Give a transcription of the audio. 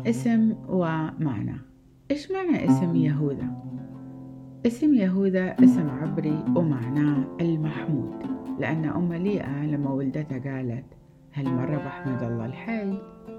اسم ومعنى. إيش معنى اسم يهوذا؟ اسم يهوذا اسم عبري ومعناه المحمود، لأن أم ليئة لما ولدتها قالت: هل مرة بحمد الله الحي؟